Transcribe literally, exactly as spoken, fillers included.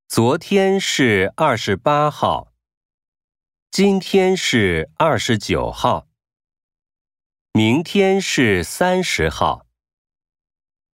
昨天是二十八号，今天是二十九号，明天是三十号。